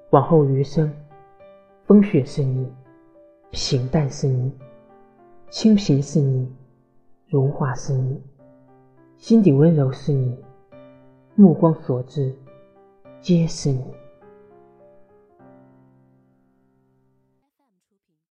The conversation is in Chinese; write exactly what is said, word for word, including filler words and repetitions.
往后余生，风雪是你，平淡是你，清贫是你，荣华是你，心底温柔是你，目光所至皆是你。